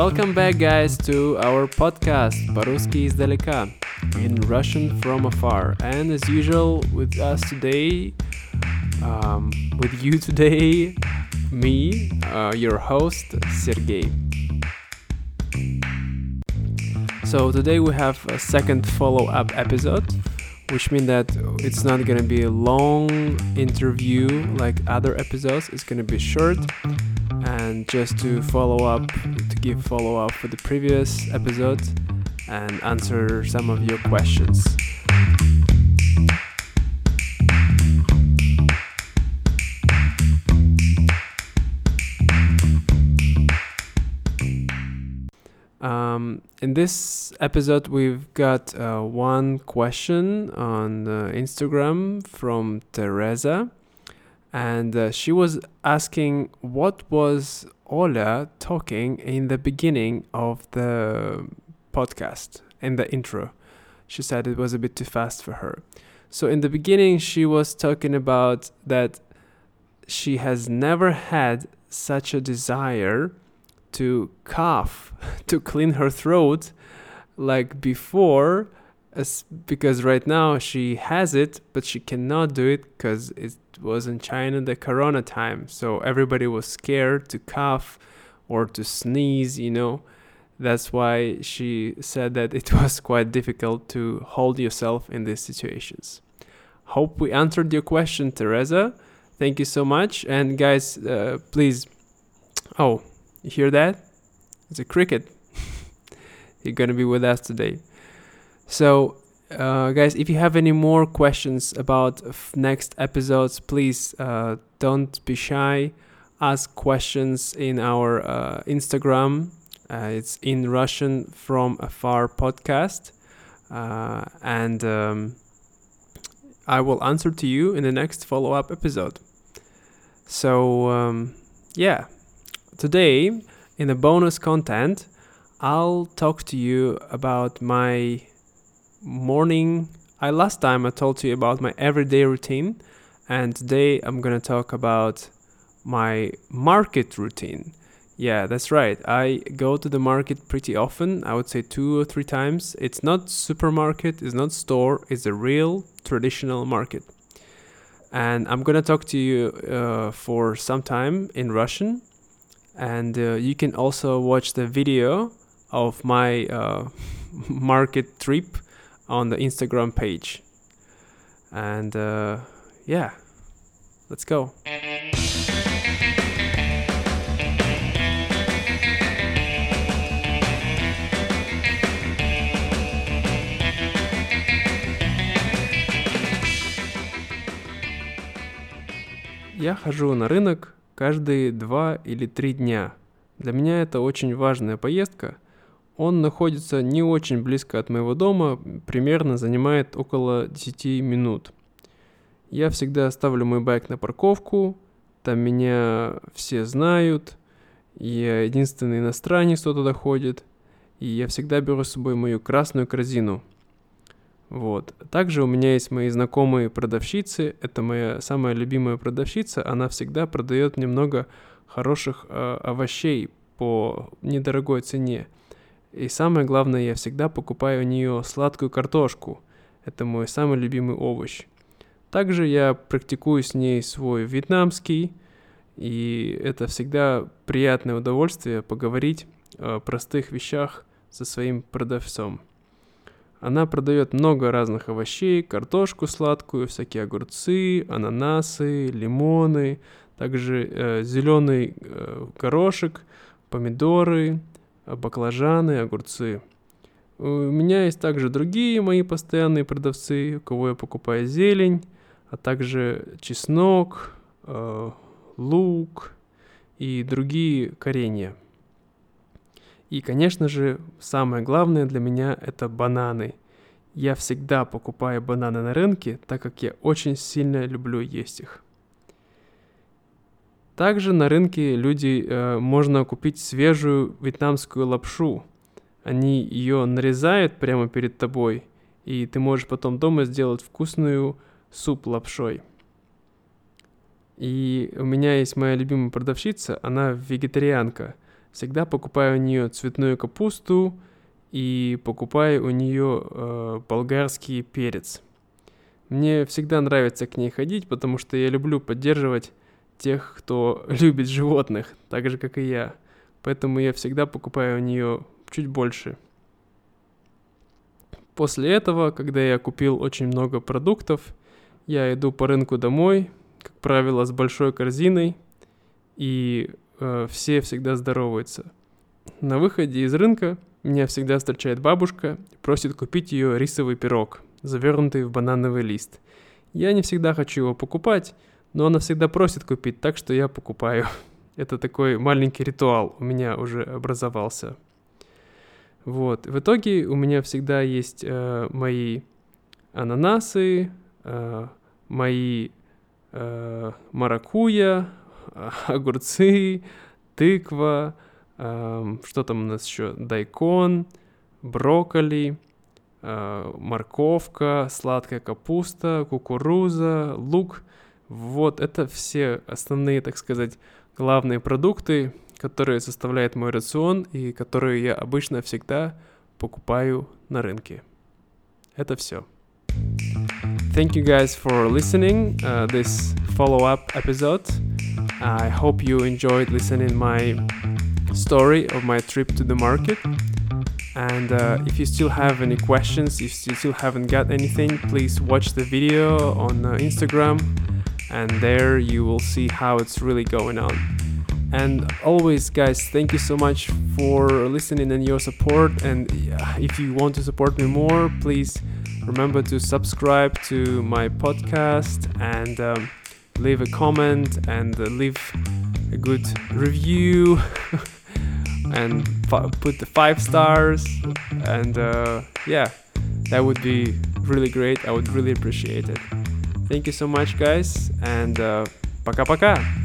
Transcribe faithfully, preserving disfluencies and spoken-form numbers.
Welcome back, guys, to our podcast По-русски издалека, in Russian from afar. And as usual, with us today, um, with you today, me, uh, your host, Sergey. So today we have a second follow-up episode, which means that it's not gonna be a long interview like other episodes. It's gonna be short, and just to follow up, to give follow-up for the previous episode and answer some of your questions. Um, in this episode, we've got uh, one question on uh, Instagram from Teresa, and uh, she was asking what was Oля talking in the beginning of the podcast, in the intro. She said it was a bit too fast for her. So in the beginning, she was talking about that she has never had such a desire to cough, to clean her throat like before, as, because right now she has it, but she cannot do it because it was in China the corona time. So everybody was scared to cough or to sneeze, you know. That's why she said that it was quite difficult to hold yourself in these situations. Hope we answered your question, Teresa. Thank you so much. And guys, uh, please, oh, you hear that? It's a cricket. You're gonna be with us today. So, uh, guys, if you have any more questions about f- next episodes, please uh, don't be shy. Ask questions in our uh, Instagram. Uh, it's in Russian from afar podcast, uh, and um, I will answer to you in the next follow-up episode. So, um, yeah. Today, in the bonus content, I'll talk to you about my morning. I last time I told you about my everyday routine, and today I'm gonna talk about my market routine. Yeah, that's right. I go to the market pretty often. I would say two or three times. It's not supermarket, it's not store, it's a real traditional market. And I'm gonna talk to you uh, for some time in Russian. And uh, you can also watch the video of my uh, market trip on the Instagram page. And uh, yeah, let's go. Я хожу на рынок каждые два или три дня. Для меня это очень важная поездка. Он находится не очень близко от моего дома, примерно занимает около десять минут. Я всегда ставлю мой байк на парковку, там меня все знают, я единственный иностранец, кто туда ходит, и я всегда беру с собой мою красную корзину. Вот. Также у меня есть мои знакомые продавщицы, это моя самая любимая продавщица, она всегда продает мне много хороших э, овощей по недорогой цене. И самое главное, я всегда покупаю у нее сладкую картошку, это мой самый любимый овощ. Также я практикую с ней свой вьетнамский, и это всегда приятное удовольствие поговорить о простых вещах со своим продавцом. Она продает много разных овощей, картошку сладкую, всякие огурцы, ананасы, лимоны, также э, зеленый э, горошек, помидоры, баклажаны, огурцы. У меня есть также другие мои постоянные продавцы, у кого я покупаю зелень, а также чеснок, э, лук и другие коренья. И, конечно же, самое главное для меня – это бананы. Я всегда покупаю бананы на рынке, так как я очень сильно люблю есть их. Также на рынке люди э, можно купить свежую вьетнамскую лапшу. Они ее нарезают прямо перед тобой, и ты можешь потом дома сделать вкусную суп лапшой. И у меня есть моя любимая продавщица, она вегетарианка. всегда покупаю у нее цветную капусту и покупаю у нее э, болгарский перец. Мне всегда нравится к ней ходить, потому что я люблю поддерживать тех, кто любит животных, так же, как и я. Поэтому я всегда покупаю у нее чуть больше. После этого, когда я купил очень много продуктов, я иду по рынку домой, как правило, с большой корзиной, и э, все всегда здороваются. На выходе из рынка меня всегда встречает бабушка и просит купить ее рисовый пирог, завернутый в банановый лист. Я не всегда хочу его покупать, но она всегда просит купить, так что я покупаю. Это такой маленький ритуал у меня уже образовался. Вот. В итоге у меня всегда есть э, мои ананасы, э, мои э, маракуйя, огурцы, тыква, э, что там у нас еще, дайкон, брокколи, э, морковка, сладкая капуста, кукуруза, лук. Вот это все основные, так сказать, главные продукты, которые составляют мой рацион и которые я обычно всегда покупаю на рынке. Это все. Thank you guys for listening uh, this follow-up episode. I hope you enjoyed listening my story of my trip to the market. And uh, if you still have any questions, if you still haven't got anything, please watch the video on uh, Instagram, and there you will see how it's really going on. And always, guys, thank you so much for listening and your support. And if you want to support me more, please remember to subscribe to my podcast and um, leave a comment and uh, leave a good review and f- put the five stars. And uh, yeah, that would be really great. I would really appreciate it. Thank you so much, guys. And uh, пока-пока.